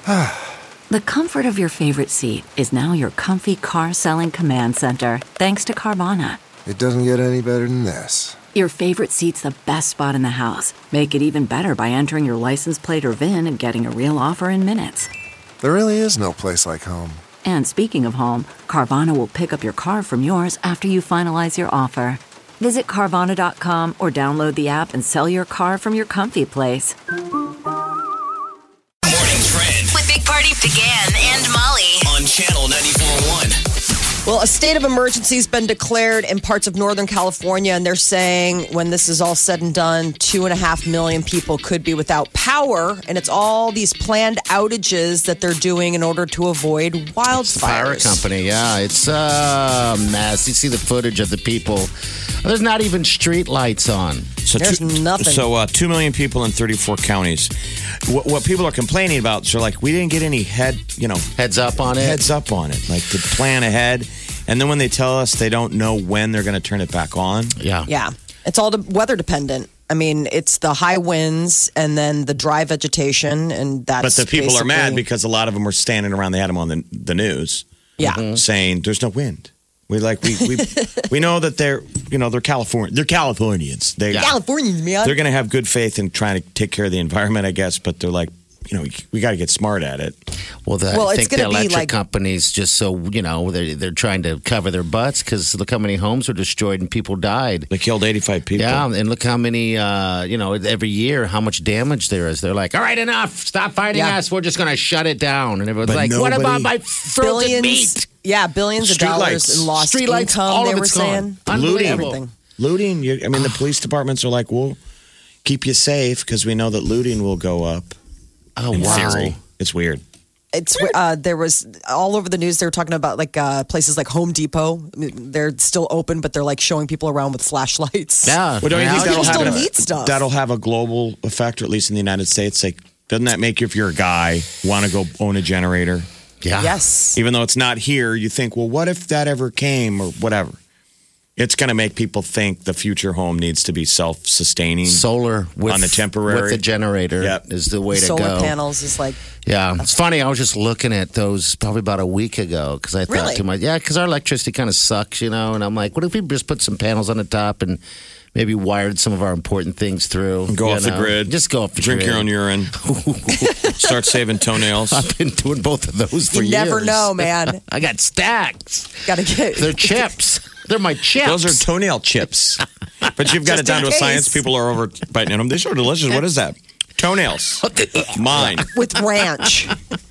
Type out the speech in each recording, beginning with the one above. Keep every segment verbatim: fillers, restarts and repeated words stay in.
The comfort of your favorite seat is now your comfy car selling command center, thanks to Carvana. It doesn't get any better than this. Your favorite seat's the best spot in the house. Make it even better by entering your license plate or V I N and getting a real offer in minutes. There really is no place like home. And speaking of home, Carvana will pick up your car from yours after you finalize your offer. Visit Carvana dot com or download the app and sell your car from your comfy place. Morning Trend with Big Party began and Molly on Channel ninety-four point one. Well, a state of emergency has been declared in parts of Northern California, and they're saying when this is all said and done, two and a half million people could be without power, and it's all these planned outages that they're doing in order to avoid wildfires. Fire company, yeah, it's a mess. You see the footage of the people. There's not even street lights on. So There's two, nothing. So uh, two million people in thirty-four counties. What, what people are complaining about, so like we didn't get any head, you know, Heads up on it. heads up on it, like to plan ahead. And then when they tell us they don't know when they're going to turn it back on. Yeah. Yeah, it's all de- weather dependent. I mean, it's the high winds and then the dry vegetation, and that's But the people are mad basically- because a lot of them were standing around. They had them on the, the news yeah. saying there's no wind. We like we we, we know that they're you know they're California they're Californians. They Californians, man. They're going to have good faith in trying to take care of the environment, I guess. But they're like, you know, we, we got to get smart at it. Well, the, Well, I it's think the gonna be electric like- companies just so, you know, they're, they're trying to cover their butts because look how many homes were destroyed and people died. They killed eighty-five people. Yeah, and look how many, uh, you know, every year, how much damage there is. They're like, all right, enough. Stop fighting Yeah. us. We're just going to shut it down. And everyone's But like, what nobody- about my frozen meat? Yeah, billions of Street dollars lights. in lost Street lights, income, all they of were it's saying. gone. Looting. Unbelievable. Everything. Looting. You, I mean, the police departments are like, we'll keep you safe because we know that looting will go up. Oh, in wow. theory. It's weird. It's uh, there was all over the news. They were talking about like uh, places like Home Depot. I mean, they're still open, but they're like showing people around with flashlights. Yeah. Well, don't you Now think that'll people have, still an- need stuff. that'll have a global effect, or at least in the United States? Like, doesn't that make you, if you're a guy, want to go own a generator? Yeah. Yes. Even though it's not here, you think, well, what if that ever came or whatever? It's going to make people think the future home needs to be self-sustaining. Solar with, On the temporary. with the generator Yep. is the way to Solar go. panels is like Yeah, it's funny. I was just looking at those probably about a week ago because I thought Really? to myself, yeah, because our electricity kind of sucks, you know. And I'm like, what if we just put some panels on the top and maybe wired some of our important things through? Go you off the know? grid. Just go off the Drink grid. your own urine. Start saving toenails. I've been doing both of those for you years. never know, man. I got stacks. Got to get. They're chips. They're my chips. Those are toenail chips. But you've got Just it down in to a science. case. People are over biting them. They're so delicious. What is that? Toenails. Mine. with ranch.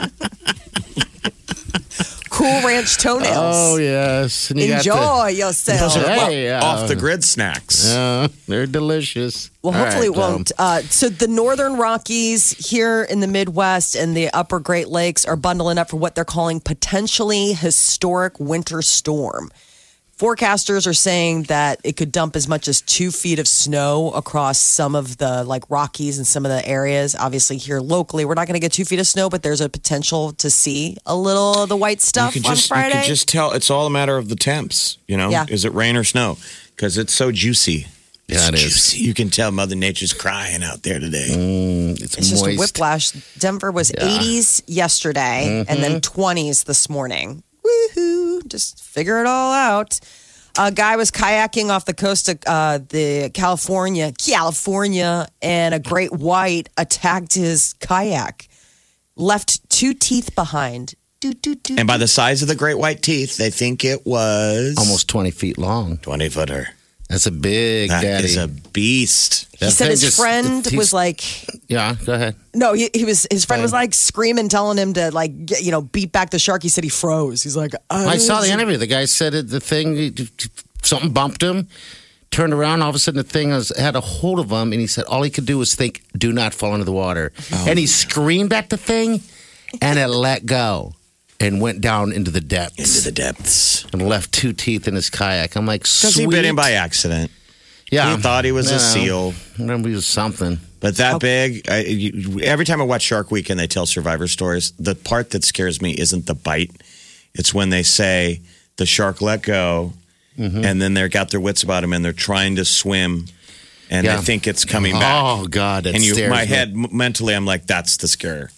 Cool Ranch toenails. Oh yes, and you got Enjoy yourself. Those are Hey, off, uh, off the grid snacks. the, uh, they're delicious. Well, All hopefully right, it won't. Uh, so the Northern Rockies here in the Midwest and the Upper Great Lakes are bundling up for what they're calling potentially historic winter storm. Forecasters are saying that it could dump as much as two feet of snow across some of the like Rockies and some of the areas. Obviously, here locally, we're not going to get two feet of snow, but there's a potential to see a little of the white stuff you could on just, Friday. You could just tell. It's all a matter of the temps. You know, Yeah. is it rain or snow? Because it's so juicy. Yeah, it's it is. juicy. You can tell Mother Nature's crying out there today. Mm, it's, It's just a moist. whiplash. Denver was eighties yesterday and then twenties this morning. Woohoo! Just figure it all out. A guy was kayaking off the coast of uh, the California, California, and a great white attacked his kayak, left two teeth behind. Do, do, do, And by the size of the great white teeth, they think it was Almost twenty feet long. twenty footer. That's a big That daddy. is a beast. he That said thing his just- friend he's- was like, Yeah, go ahead. no, he, he was. His friend Fine. was like screaming, telling him to like, get, you know, beat back the shark. He said he froze. He's like, I saw the interview. The guy said it, the thing, something bumped him, turned around. All of a sudden, the thing was, had a hold of him, and he said all he could do was think, do not fall into the water. And he screamed at the thing, and it let go and went down into the depths. Into the depths. And left two teeth in his kayak. I'm like, Because sweet. he bit him by accident. Yeah. He thought he was You a know, seal. Remember, he was something. But that big, I, you, every time I watch Shark Week and they tell survivor stories, the part that scares me isn't the bite. It's when they say the shark let go and then they've got their wits about them and they're trying to swim and Yeah. they think it's coming back. Oh, God. That and you, scares my me. head, m- mentally, I'm like, that's the scare.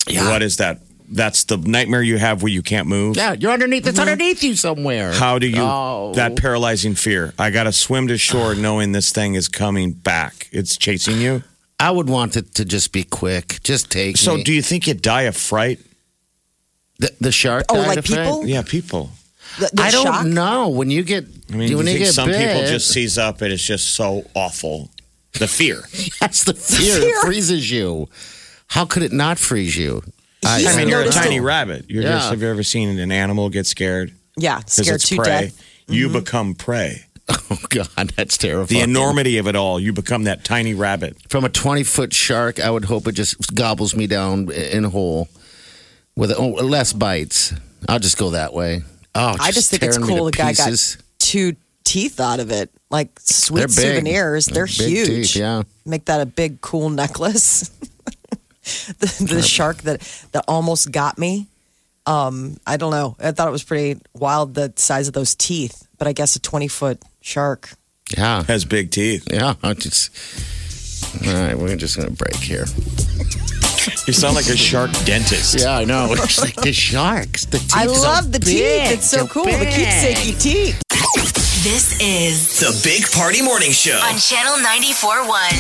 Yeah. What is that? That's the nightmare you have where you can't move. Yeah, you're underneath. It's underneath you somewhere. How do you, Oh. that paralyzing fear? I got to swim to shore knowing this thing is coming back. It's chasing you. I would want it to just be quick. Just take So me. do you think you die of fright? the, the shark? Oh, died like of fright? people? Yeah, people. The, the I don't shock? know. When you get, I mean, when you you think get some bit, people just seize up and it's just so awful. The fear. that's the fear. fear. It freezes you. How could it not freeze you? He's I mean, you're a noticed tiny it. rabbit. You're Yeah. just, have you ever seen an animal get scared? Yeah, Because scared it's to prey. death. You become prey. Oh God, that's terrifying. The enormity of it all. You become that tiny rabbit. From a twenty foot shark, I would hope it just gobbles me down in whole with oh, less bites. I'll just go that way. Oh, I just think it's tearing me cool to the guy pieces. got two teeth out of it. Like sweet They're big. souvenirs. They're, They're big huge. teeth, yeah. Make that a big, cool necklace. the, the shark that, that almost got me. Um, I don't know. I thought it was pretty wild, the size of those teeth. But I guess a twenty foot shark. Yeah, Has big teeth. yeah. I just all right. We're just gonna break here. You sound like a shark dentist. Yeah, I know. It's like the sharks. The teeth I so love the big. teeth. It's so They're cool. The big. keepsakey teeth. This is The Big Party Morning Show. on Channel ninety-four point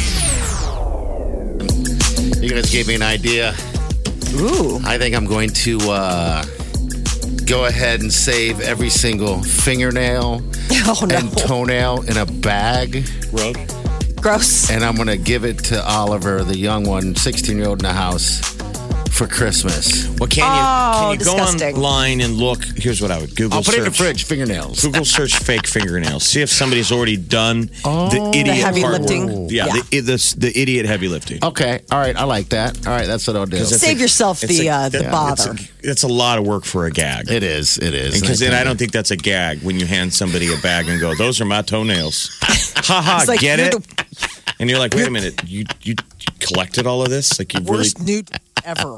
one. You guys gave me an idea. Ooh. I think I'm going to uh, go ahead and save every single fingernail Oh, no. and toenail in a bag, Road. Gross. and I'm going to give it to Oliver, the young one, sixteen year old in the house, for Christmas. Well, can you, Oh, can you go disgusting. online and look? Here's what I would Google I'll put search. it in the fridge. Fingernails. Google search fake fingernails. See if somebody's already done the idiot heavy hard lifting. work. Yeah, Yeah. The, the, the idiot heavy lifting. Okay. All right. I like that. All right. That's what I'll do. It's Save a- yourself it's the, a- uh, the yeah, bother. It's a, it's a lot of work for a gag. It is. It is. Because then think- I don't think that's a gag when you hand somebody a bag and go, "Those are my toenails." Ha ha! It's like, Get you're it? the And you're like, "Wait a minute! You you collected all of this? Like you really?" worst nude ever.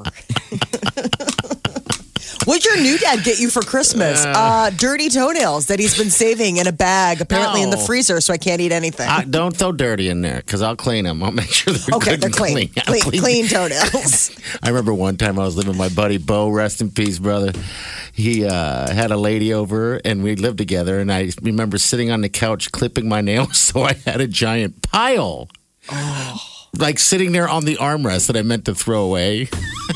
What'd your new dad get you for Christmas? Uh, dirty toenails that he's been saving in a bag, apparently in the No. freezer, so I can't eat anything. I, don't throw dirty in there because I'll clean them. I'll make sure they're okay, good they're and clean. I'll Clean, clean toenails. I remember one time I was living with my buddy Bo, rest in peace, brother. He uh, had a lady over and we lived together. And I remember sitting on the couch clipping my nails, so I had a giant pile. Oh. Like sitting there on the armrest that I meant to throw away.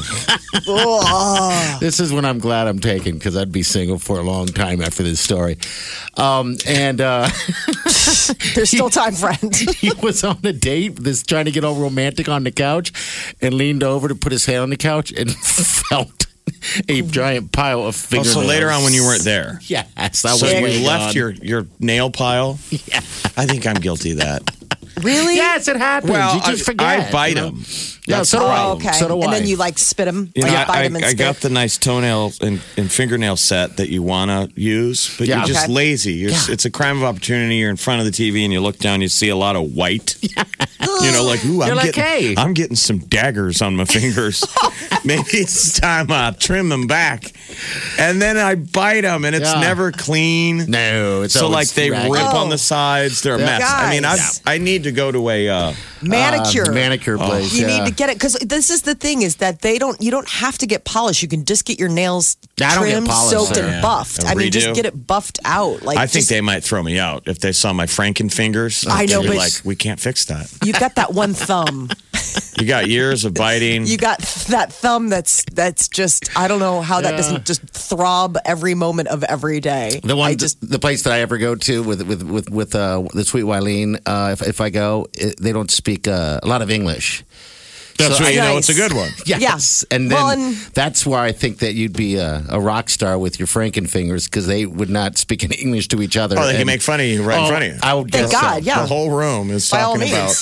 Oh. This is when I'm glad I'm taken because I'd be single for a long time after this story. Um, and uh, There's still time, friend. he was on a date, this trying to get all romantic on the couch, and leaned over to put his hand on the couch and felt a giant pile of Oh, fingernails. so later on when you weren't there. Yes, I was So way you left gone. your, your nail pile? Yeah. I think I'm guilty of that. Really? Yes, it happens. Well, you just I, forget. I bite you know? them. Yeah, That's so the do I. Oh, problem. okay. So do and I. then you like spit them. You know, like, bite I, them and I spit. got the nice toenail and, and fingernail set that you want to use, but Yeah. you're just Okay. lazy. You're, Yeah. It's a crime of opportunity. You're in front of the T V and you look down, you see a lot of white. You know, like, ooh, I'm, You're like, getting, hey. I'm getting some daggers on my fingers. Maybe it's time I trim them back. And then I bite them and it's Yeah. never clean. No, it's So, always like, they ragged. rip Oh. on the sides. They're a mess. I mean, I Guys. I need to go to a. Uh, Manicure. Uh, manicure place. You yeah. need to get it because this is the thing is that they don't. You don't have to get polished. You can just get your nails I don't get trimmed, polished soaked, there. and Yeah. buffed. A I mean, just redo. get it buffed out. Like I think just- they might throw me out if they saw my Franken fingers. I know, They'd be but- like, we can't fix that. you've got that one thumb. You got years of biting. You got that thumb that's that's just. I don't know how that Yeah. doesn't just throb every moment of every day. The one, I just the place that I ever go to with with with with uh, the Sweet Wileen, uh, if if I go, it, they don't speak uh, a lot of English. That's So when I- you know Nice. it's a good one. Yes, and then Well, and- that's where I think that you'd be a, a rock star with your Frankenfingers because they would not speak in English to each other. Oh, they can And- make fun of you right in Oh, front of you. I would Thank guess so. God, yeah. The whole room is By all talking about.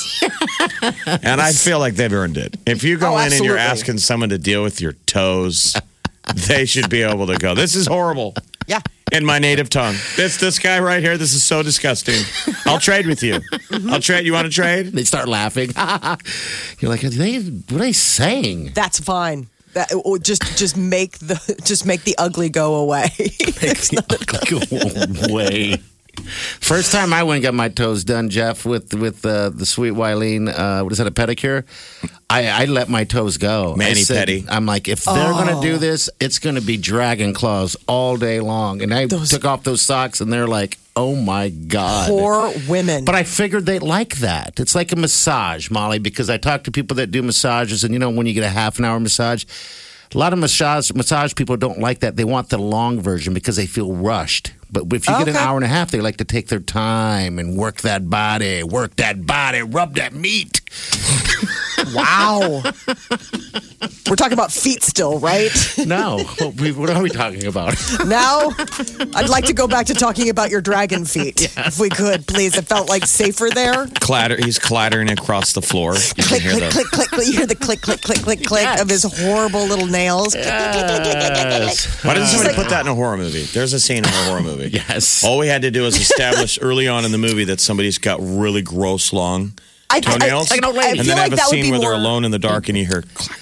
means. And I feel like they've earned it. If you go Oh, in and you're absolutely. asking someone to deal with your toes, they should be able to go, this is horrible. Yeah. In my native tongue. This this guy right here, this is so disgusting. I'll trade with you. I'll trade. You want to trade? They start laughing. You're like, are they, what are they saying? That's fine. That or just just make the just make the ugly go away. Go away. First time I went and got my toes done, Jeff, with with uh, the sweet Wileen, uh, what is that, a pedicure? I, I let my toes go. Mani I said, pedi. I'm like, if they're going to do this, it's going to be dragon claws all day long. And I took off those socks, and they're like, oh my God. Poor women. But I figured they like that. It's like a massage, Molly, because I talk to people that do massages, and you know, when you get a half an hour massage, a lot of massage massage people don't like that. They want the long version because they feel rushed. But if you get an Okay. hour and a half, they like to take their time and work that body, work that body, rub that meat. Wow. We're talking about feet still, right? No, what we- what are we talking about? Now, I'd like to go back to talking about your dragon feet, if we could, please. It felt like safer there. Clatter. He's clattering across the floor. You can Click, hear click, the. click, click, click. You hear the click, click, click, click, click Yes. of his horrible little nails. Yes. Why doesn't somebody put that in a horror movie? There's a scene in a horror movie. Yes. All we had to do is establish early on in the movie that somebody's got really gross long I, toenails, I, I, I and feel then like have a that would scene be where more. they're alone in the dark and you hear clack.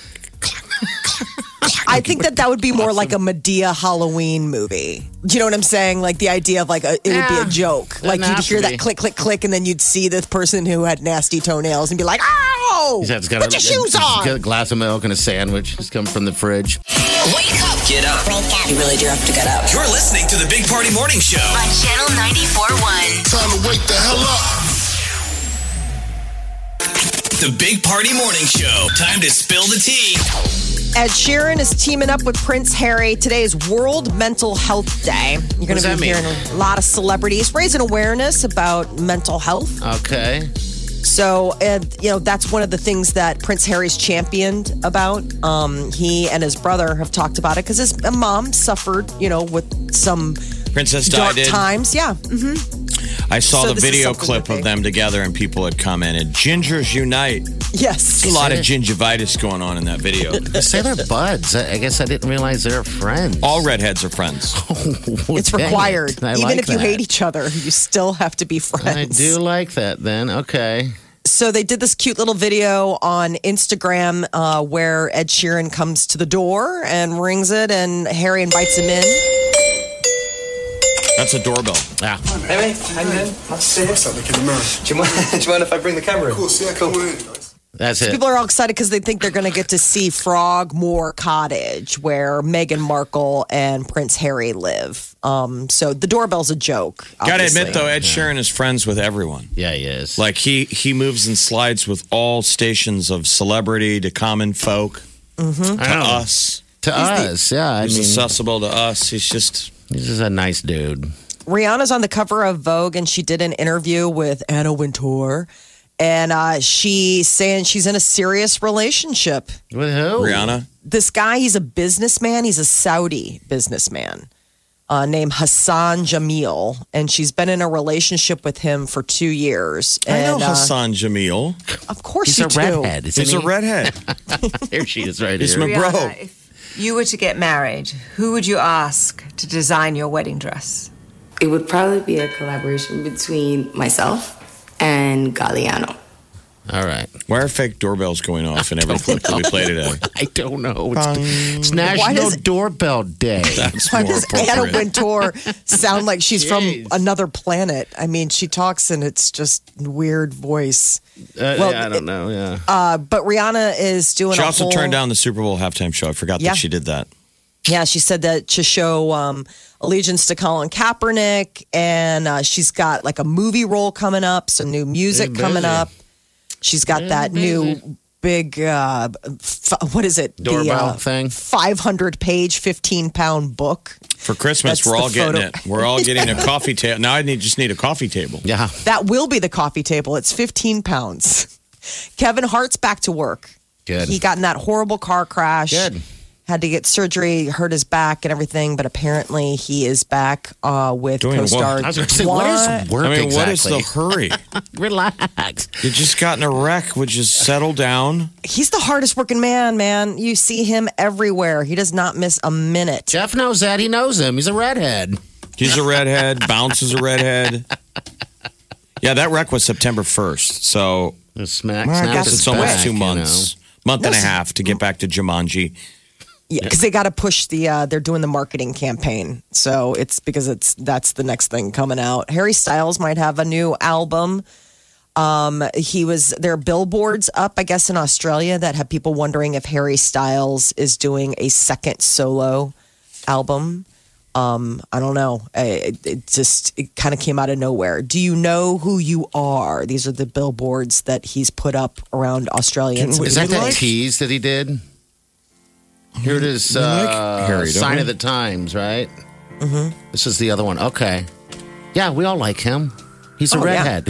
I think that that would be more like a Medea Halloween movie. Do you know what I'm saying? Like the idea of like a, it would be Yeah. a joke. Like Doesn't you'd have hear to that be. click, click, click, and then you'd see this person who had nasty toenails and be like, "Ow! He's got- Put your shoes he's got on." a glass of milk and a sandwich. Just come from the fridge. Wake up Get up. You really do have to get up. You're listening to the Big Party Morning Show. On Channel ninety-four point one. Time to wake the hell up. The Big Party Morning Show. Time to spill the tea. Ed Sheeran is teaming up with Prince Harry. Today is World Mental Health Day. You're going does to that be mean? hearing a lot of celebrities raising awareness about mental health. Okay. So, and you know, that's one of the things that Prince Harry's championed about. Um, he and his brother have talked about it because his mom suffered, you know, with some Princess Di dark did. times. Yeah. hmm I saw So the this is video something clip that they- of them together, and people had commented, "Gingers unite." Yes. There's a lot of gingivitis going on in that video. They say they're buds. I I guess I didn't realize they're friends. All redheads are friends. It's Dang required. it. I Even like if you that. hate each other, you still have to be friends. I do like that then. Okay. So they did this cute little video on Instagram uh, where Ed Sheeran comes to the door and rings it, and Harry invites him in. That's a doorbell. Ah, Hey, mate. How you doing? Nice to see you. What's up? Look in the mirror. Do you, mind, do you mind if I bring the camera in? Cool. See, I come in. that's it. People are all excited because they think they're going to get to see Frogmore Cottage, where Meghan Markle and Prince Harry live. Um, so the doorbell's a joke. Gotta obviously. admit, though, Ed Sheeran is friends with everyone. Yeah, he is. Like, he, he moves and slides with all stations of celebrity to common folk I to know. us. To us, yeah. I He's mean, accessible to us. He's just... he's just a nice dude. Rihanna's on the cover of Vogue, and she did an interview with Anna Wintour. And uh, she's saying she's in a serious relationship. With who? Rihanna. This guy, he's a businessman. He's a Saudi businessman uh, named Hassan Jamil. And she's been in a relationship with him for two years. I know And, uh, Hassan Jamil. Of course He's you a do. redhead. Isn't He's he? a redhead. Here she is right He's here. my bro. Rihanna, if you were to get married, who would you ask to design your wedding dress? It would probably be a collaboration between myself and Galliano. All right. Why are fake doorbells going off in every clip that we play today? I don't know. It's, it's Why National does- Doorbell Day. That's Why more does Anna appropriate. Wintour sound like she's Jeez. from another planet? I mean, she talks and it's just weird voice. Uh, Well, yeah, I don't know. Yeah. Uh, but Rihanna is doing She a also whole, turned down the Super Bowl halftime show. I forgot Yeah. that she did that. Yeah, she said that to show um, allegiance to Colin Kaepernick, and uh, she's got like a movie role coming up, some new music Big coming busy. up. She's got Big that busy. new big, uh, f- what is it? Doorbell the, uh, thing? five hundred page, fifteen pound book. For Christmas, That's we're the all getting photo. it. We're all getting a coffee table. Now I need just need a coffee table. Yeah. That will be the coffee table. It's fifteen pounds. Kevin Hart's back to work. Good. He got in that horrible car crash. Good. Had to get surgery, hurt his back and everything, but apparently he is back uh, with Doing what? co-star. I was going to say, what is work I mean, exactly? what is the hurry? Relax. You just got in a wreck. Would you settle down? He's the hardest working man, man. You see him everywhere. He does not miss a minute. Jeff knows that. He knows him. He's a redhead. He's a redhead. Bounce is a redhead. Yeah, that wreck was September first. So The smack, well, I snap guess his it's almost back, two you months, month and a half to get back to Jumanji. Yeah, because they got to push the. Uh, they're doing the marketing campaign, so it's because it's that's the next thing coming out. Harry Styles might have a new album. Um, he was there are billboards up, I guess, in Australia that have people wondering if Harry Styles is doing a second solo album. Um, I don't know. It, it just it kind of came out of nowhere. Do you know who you are? These are the billboards that he's put up around Australians. Is that that tease that he did? Here it is. We like Uh, Harry, don't Sign we? of the Times, right? Mm-hmm. This is the other one. Okay. Yeah, we all like him. He's a Oh, yeah. redhead.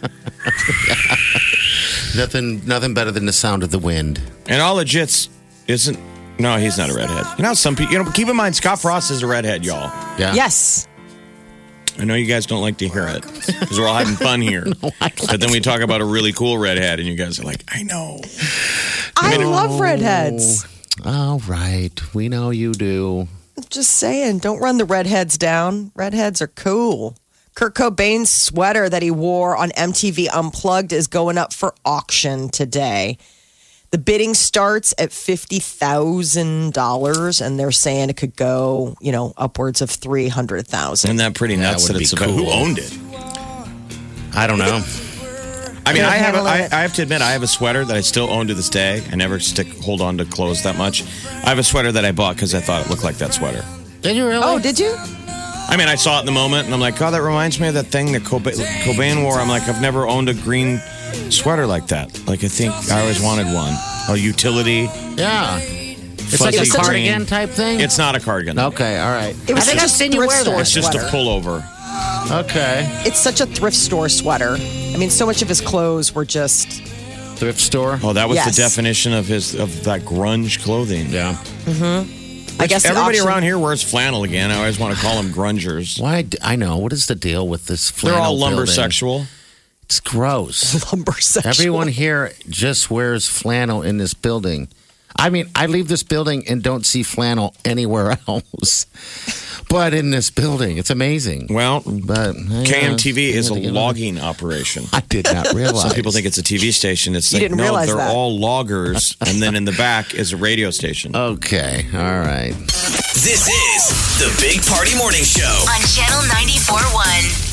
nothing, nothing better than the sound of the wind. And all legits isn't. No, he's not a redhead. You know, some people. You know, keep in mind, Scott Frost is a redhead, y'all. Yeah. Yes. I know you guys don't like to hear it because we're all having fun here. No, I like but then we talk about a really cool redhead, and you guys are like, I know. I love redheads. All right. We know you do. Just saying, don't run the redheads down. Redheads are cool. Kurt Cobain's sweater that he wore on M T V Unplugged is going up for auction today. The bidding starts at fifty thousand dollars, and they're saying it could go, you know, upwards of three hundred thousand Isn't that pretty nuts That that, would it's be about who cool. owned it? I don't know. I mean, Can't I have, a, handle I, it. I have to admit, I have a sweater that I still own to this day. I never stick hold on to clothes that much. I have a sweater that I bought because I thought it looked like that sweater. Did you really? Oh, did you? I mean, I saw it in the moment, and I'm like, oh, that reminds me of that thing that Cobain, Cobain wore. I'm like, I've never owned a green sweater like that. Like, I think I always wanted one. A utility. Yeah. It's like a Fuzzy cardigan green. type thing? It's not a cardigan. Okay, all right. It was I think such I've a seen you thrift wear store that. It's just a sweater. pullover. Okay. It's such a thrift store sweater. I mean, so much of his clothes were just. Thrift store? Oh, that was Yes. the definition of his of that grunge clothing. Yeah. I guess the Everybody option- around here wears flannel again. I always want to call them grungers. Why? d- I know. What is the deal with this They're flannel all lumber building? sexual. It's gross. lumber section. Everyone here just wears flannel in this building. I mean, I leave this building and don't see flannel anywhere else. But in this building, it's amazing. Well, But yeah, K M T V is a you know, logging operation. I did not realize. Some people think it's a T V station. It's You like, didn't no, realize they're that. all loggers. And then in the back is a radio station. Okay, all right. This is the Big Party Morning Show. On Channel ninety-four point one.